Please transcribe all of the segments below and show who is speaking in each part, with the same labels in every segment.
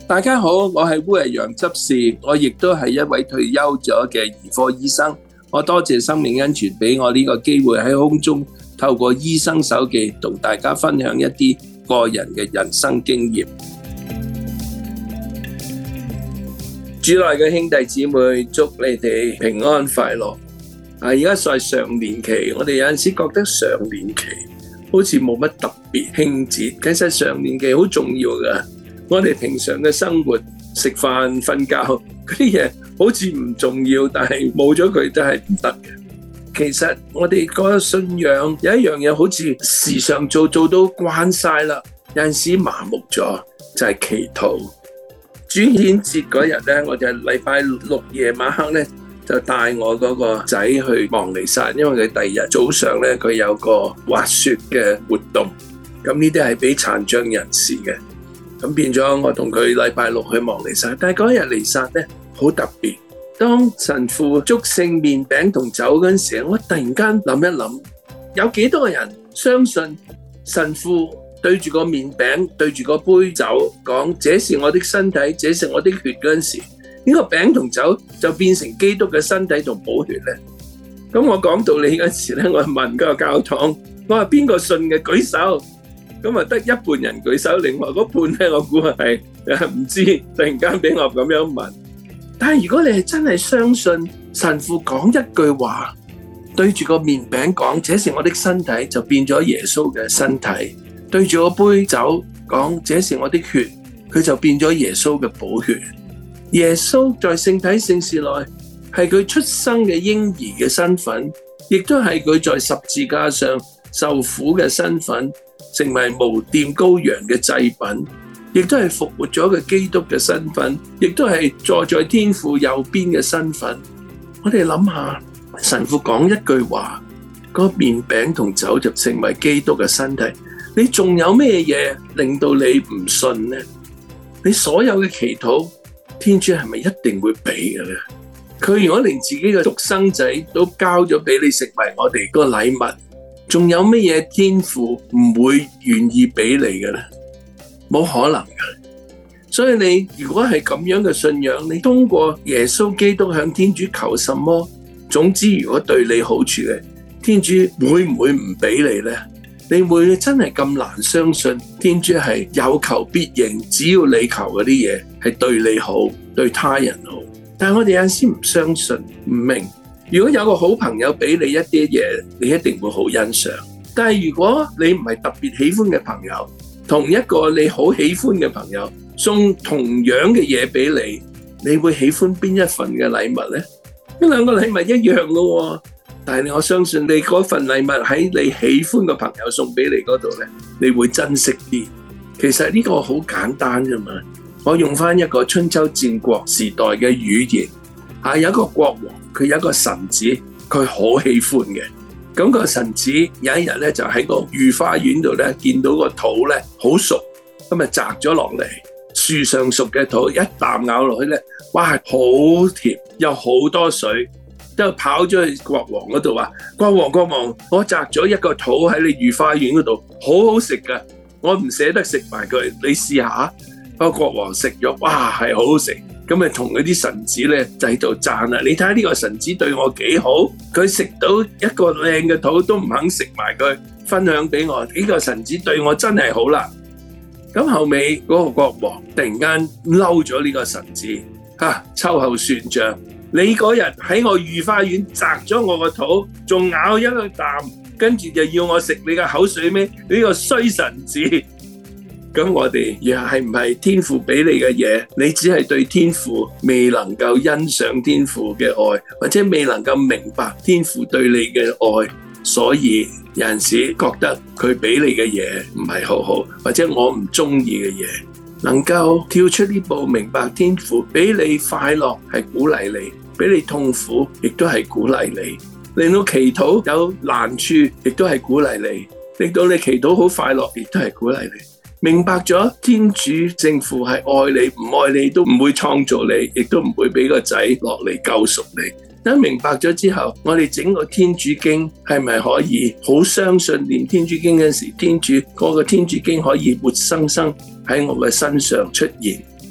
Speaker 1: 大家好，我係烏日陽執事，我亦都係一位退休咗嘅兒科醫生。我多謝生命恩泉俾我呢個機會喺空中透過醫生手記同大家分享一啲個人嘅人生經驗。主內嘅兄弟姊妹，祝你哋平安快樂。而家在上年期，我哋有陣時覺得上年期好似冇乜特別慶節，其實上年期好重要㗎。我哋平常嘅生活，食飯、瞓覺嗰啲嘢好似唔重要，但係冇咗佢都係唔得嘅。其實我哋個信仰有一樣嘢好似時常做到慣晒啦，有陣時麻木咗，就係祈禱。主顯節嗰日咧，我就禮拜六夜晚黑咧就帶我嗰個仔去望彌撒，因為佢第二日早上咧佢有個滑雪嘅活動，咁呢啲係俾殘障人士嘅。咁變咗我同佢禮拜六去望彌撒，但係嗰日彌撒咧好特別。當神父祝聖麵餅同酒嗰陣時，我突然間諗一諗，有幾多個人相信神父對住個麵餅對住個杯酒講這是我的身體，這是我的血嗰陣時，呢個餅同酒就變成基督嘅身體同寶血咧？咁我講道理嗰時咧，我問個教堂，我話邊個信嘅舉手？咁啊，得一半人舉手，另外嗰半咧，我估係唔知。突然間俾我咁樣問，但係如果你係真係相信神父講一句話，對住個麵餅講，這是我的身體，就變咗耶穌嘅身體；對住個杯酒講，這是我的血，佢就變咗耶穌嘅寶血。耶穌在聖體聖事內係佢出生嘅嬰兒嘅身份，亦都係佢在十字架上受苦嘅身份。成為無玷羔羊嘅祭品，亦都係復活咗嘅基督嘅身份，亦都係坐在天父右邊嘅身份。我哋諗下，神父講一句話，嗰麵餅同酒就成為基督嘅身體。你仲有咩嘢令到你唔信呢？你所有嘅祈禱，天主係咪一定會俾嘅咧？佢如果連自己嘅獨生仔都交咗俾你，成為我哋個禮物，仲有乜嘢天父唔會願意俾你嘅咧？冇可能嘅。所以你如果係咁樣嘅信仰，你通過耶穌基督向天主求什麼，總之如果對你好處嘅，天主會唔會唔俾你咧？你會真係咁難相信天主係有求必應，只要你求嗰啲嘢係對你好，對他人好。但係我哋有陣時唔相信，唔明。如果有個好朋友俾你一啲嘢，你一定會好欣賞。但係如果你唔係特別喜歡嘅朋友，同一個你好喜歡嘅朋友送同樣嘅嘢俾你，你會喜歡邊一份嘅禮物呢？呢兩個禮物一樣嘅喎，但係我相信你嗰份禮物喺你喜歡嘅朋友送俾你嗰度呢，你會珍惜啲。其實呢個好簡單啫嘛。我用翻一個春秋戰國時代嘅語言，有一個國王。佢有一個臣子，佢好喜歡嘅。咁個臣子有一日咧，就喺個御花園度咧，見到個桃咧好熟，咁啊摘咗落嚟。樹上熟嘅桃，一啖咬落去咧，哇，好甜，有好多水。之後跑咗去國王嗰度話：國王，我摘咗一個桃喺你御花園嗰度，好好食噶，我唔捨得食埋佢，你試下。個國王食咗，哇，係好好食。咁咪同嗰啲臣子咧就喺度讚啦！你睇下呢個臣子對我幾好，佢食到一個靚嘅桃都唔肯食埋佢，分享俾我。呢個臣子對我真係好啦。咁後尾嗰個國王突然間嬲咗呢個臣子，秋後算賬。你嗰日喺我御花園摘咗我個桃，仲咬一個啖，跟住就要我食你嘅口水咩？呢個衰臣子！咁我哋又係唔係天父俾你嘅嘢？你只係對天父未能夠欣賞天父嘅愛，或者未能夠明白天父對你嘅愛，所以有陣時覺得佢俾你嘅嘢唔係好好，或者我唔中意嘅嘢，能夠跳出呢步，明白天父俾你快樂係鼓勵你，俾你痛苦亦都係鼓勵你，令到祈禱有難處亦都係鼓勵你，令到你祈禱好快樂亦都係鼓勵你。明白咗天主聖父係愛你，唔愛你都唔會創造你，亦都唔會俾個仔落嚟救贖你。當明白咗之後，我哋整個天主經係咪可以好相信念天主經嗰時，天主嗰個天主經可以活生生喺我嘅身上出現？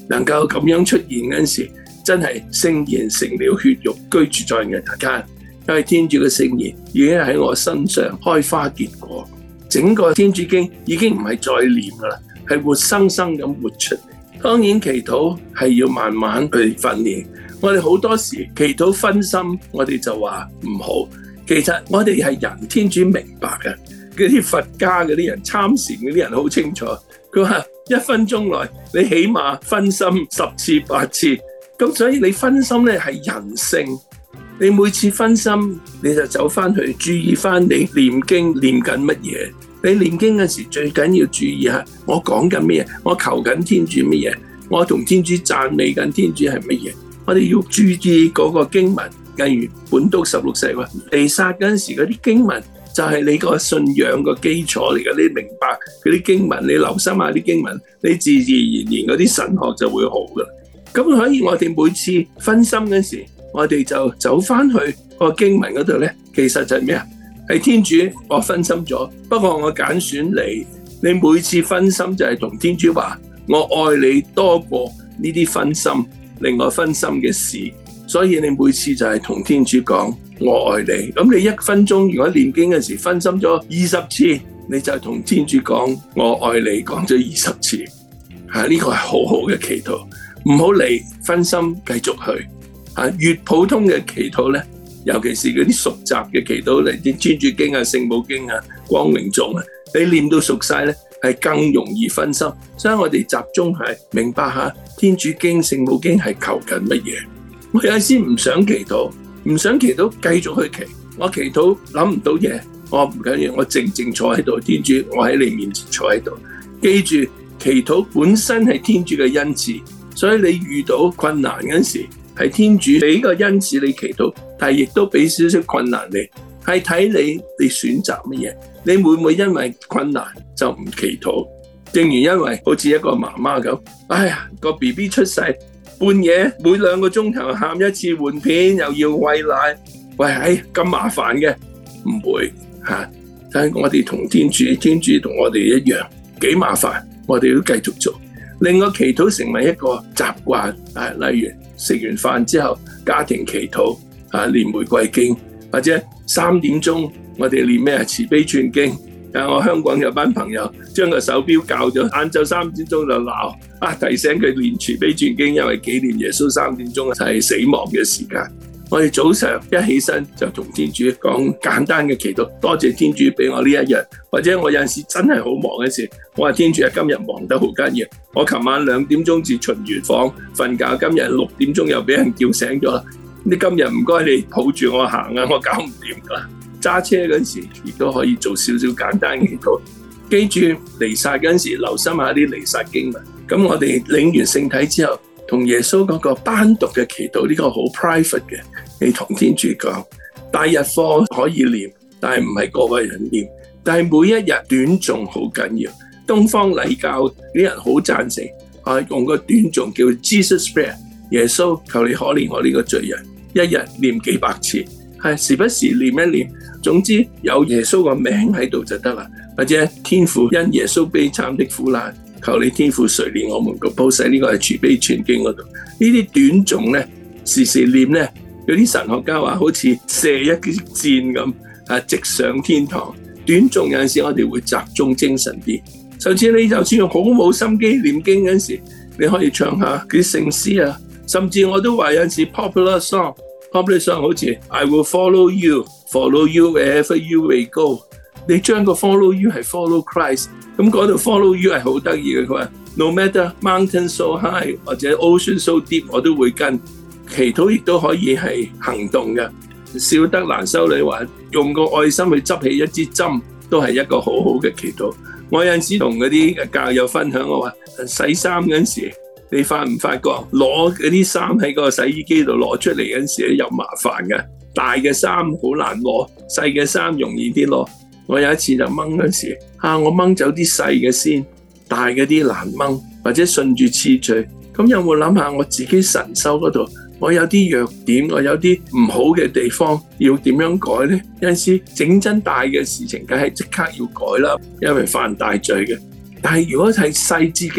Speaker 1: 能夠咁樣出現嗰陣時，真係聖言成了血肉居住在人間。因為天主嘅聖言已經喺我身上開花結果，整個天主經已經唔係再念㗎啦，係活生生咁活出嚟。當然祈禱係要慢慢去訓練，我哋好多時祈禱分心，我哋就話唔好。其實我哋係人，天主明白嘅。嗰啲佛家嗰啲人參禪嗰啲人好清楚，佢話1分鐘內你起碼分心10次8次，咁所以你分心咧係人性。你每次分心，你就走翻去注意翻你念經念緊乜嘢。你念經嗰時最緊要注意下，我講緊乜嘢，我求緊天主乜嘢，我同天主讚美緊天主係乜嘢。我哋要注意嗰個經文，例如本篤16世話彌撒嗰陣時嗰啲經文就係你個信仰個基礎嚟嘅。你明白嗰啲經文，你留心下啲經文，你自自然然嗰啲神學就會好噶。咁所以我哋每次分心嗰時，我哋就走翻去個經文嗰度咧，其實就係咩啊？係天主，我分心咗，不過我揀選你。你每次分心就係同天主話，我愛你多過呢啲分心，令我分心嘅事。所以你每次就係同天主講，我愛你。咁你1分鐘如果念經嘅時分心咗20次，你就同天主講，我愛你，講咗20次。呢個係好好嘅祈禱，唔好理分心，繼續去。越普通嘅祈禱咧，尤其是嗰啲熟習嘅祈禱，嚟啲天主經啊、聖母經啊、光榮頌啊，你念到熟晒咧，係更容易分心。所以我哋集中係明白下天主經、聖母經係求緊乜嘢。我有陣時唔想祈禱，繼續去祈。我祈禱諗唔到嘢，我唔緊要，我靜靜坐喺度。天主，我喺你面前坐喺度。記住，祈禱本身係天主嘅恩賜，所以你遇到困難嗰時，係天主俾個恩賜你祈禱，但係亦都俾少少困難你，係睇你選擇乜嘢。你會唔會因為困難就唔祈禱？正如因為好似一個媽媽咁，哎呀個 BB 出世，半夜每2個鐘頭喊一次換片，又要餵奶，喂，咁麻煩嘅？唔會嚇，但係我哋同天主同我哋一樣幾麻煩，我哋都繼續做，令個祈禱成為一個習慣。例如食完飯之後家庭祈禱，念玫瑰經，或者3點鐘我哋念咩慈悲串經。我香港有班朋友將個手錶校咗晏晝3點鐘就鬧，提醒佢念慈悲串經，因為紀念耶穌3點鐘係死亡嘅時間。我哋早上一起身就同天主講簡單嘅祈禱，多謝天主俾我呢一日。或者我有陣時真係好忙嘅時，我話天主今日忙得好緊要，我琴晚2點鐘至巡完房瞓覺，今日6點鐘又俾人叫醒咗啦。你今日唔該你抱住我行啊，我搞唔掂噶啦。揸車嗰時亦都可以做少少簡單嘅祈禱。記住彌撒嗰時留心下啲彌撒經文。咁我哋領完聖體之後，同耶穌嗰個單獨嘅祈禱，呢個好 private 嘅，你同天主講。大日課可以念，但係唔係個個人念。但係每一日短誦好緊要。東方禮教啲人好贊成，用個短誦叫 Jesus Prayer， 耶穌求你可憐我呢個罪人，一日念幾百次，時不時念一念。總之有耶穌個名喺度就得啦。或者天父因耶穌悲慘的苦難，求你天父垂憐我們個報世，呢個係慈悲全經嗰度。呢啲短誦咧，時時念咧，有啲神學家話好似射一支箭咁，直上天堂。短誦有陣時我哋會集中精神啲。甚至你就算好冇心機念經嗰陣時，你可以唱下啲聖詩啊。甚至我都話有陣時 popular song 好似 I will follow you wherever you may go。你將個 follow you 係 follow Christ， 咁嗰度 follow you 係好得意嘅。佢話 no matter mountain so high 或者 ocean so deep， 我都會跟。祈禱亦都可以係行動嘅。小德蘭修女話用個愛心去執起一支針，都係一個好好嘅祈禱。我有陣時同嗰啲教友分享，我話洗衫嗰陣時，你發唔發覺攞嗰啲衫喺個洗衣機度攞出嚟嗰陣時又麻煩嘅。大嘅衫好難攞，細嘅衫容易啲攞。我有一次就掹嗰時，我掹走啲細嘅先，大嘅啲難掹，或者順住次序。咁有冇諗下我自己神修嗰度，我有啲弱點，我有啲唔好嘅地方，要點樣改呢？有陣時整真大嘅事情，梗係即刻要改啦，因為犯大罪嘅。但係如果係細節嗰啲，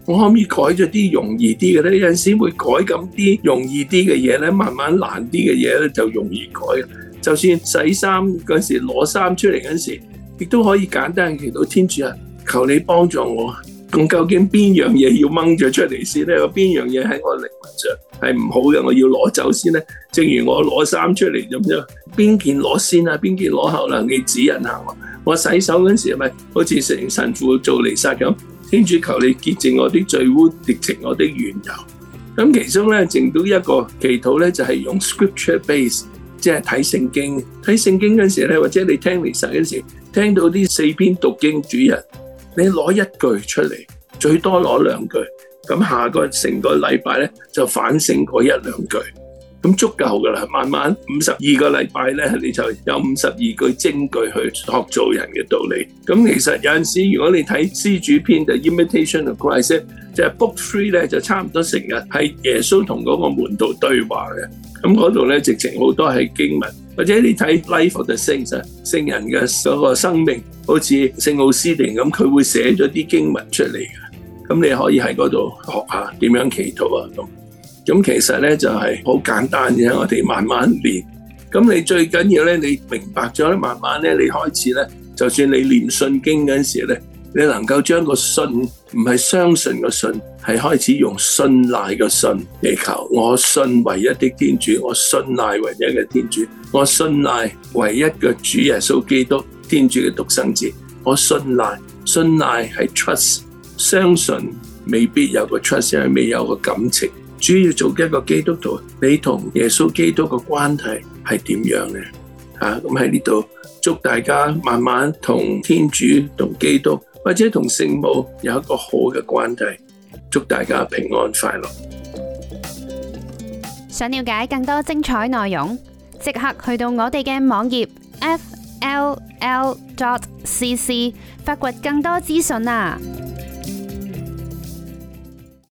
Speaker 1: 我可唔可以改咗啲容易啲嘅咧？有陣時會改咁啲容易啲嘅嘢咧，慢慢難啲嘅嘢咧就容易改。就算洗衫嗰時攞衫出嚟嗰時，亦都可以簡單祈禱天主啊，求你幫助我。咁究竟邊樣嘢要掹咗出嚟先咧？邊樣嘢喺我靈魂上係唔好嘅，我要攞走先咧？正如我攞衫出嚟咁樣，邊件攞先啊？邊件攞後啦？你指引下我。我洗手嗰時係咪好似成神父做彌撒咁？天主求你潔淨我的罪污，滌淨我的緣由。咁其中咧，剩到一個祈禱咧，就係用 scripture base， 即係睇聖經。睇聖經嗰時咧，或者你聽彌撒嗰時，聽到啲4篇讀經主日，你攞一句出嚟，最多攞2句。咁下個成個禮拜咧，就反省嗰1-2句。咁足夠噶啦，慢慢52個禮拜咧，你就有52句精句去學做人嘅道理。咁其實有陣時，如果你睇施主篇就 Imitation of Christ， 就係 Book 3咧，就差唔多成日係耶穌同嗰個門徒對話嘅。咁嗰度咧，直情好多係經文，或者你睇 Life of the Saints， 聖人嘅嗰個生命，好似聖奧斯定咁，佢會寫咗啲經文出嚟嘅。咁你可以喺嗰度學下點樣祈禱啊咁。咁其實咧就係好簡單嘅，我哋慢慢練。咁你最緊要咧，你明白咗咧，慢慢咧，你開始咧，就算你念信經嗰陣時咧，你能夠將個信唔係相信個信，係開始用信賴個信嚟求。我信唯一的天主，我信賴唯一嘅天主，我信賴唯一嘅主耶穌基督，天主嘅獨生子。我信賴係 trust， 相信未必有個 trust， 因為未有個感情。主要做一個基督徒，你同耶穌基督嘅關係係點樣呢？咁喺呢度祝大家慢慢同天主、同基督或者同聖母有一個好嘅關係。祝大家平安快樂。
Speaker 2: 想了解更多精彩內容，即刻去到我哋嘅網頁 fll.cc 發掘更多資訊啊！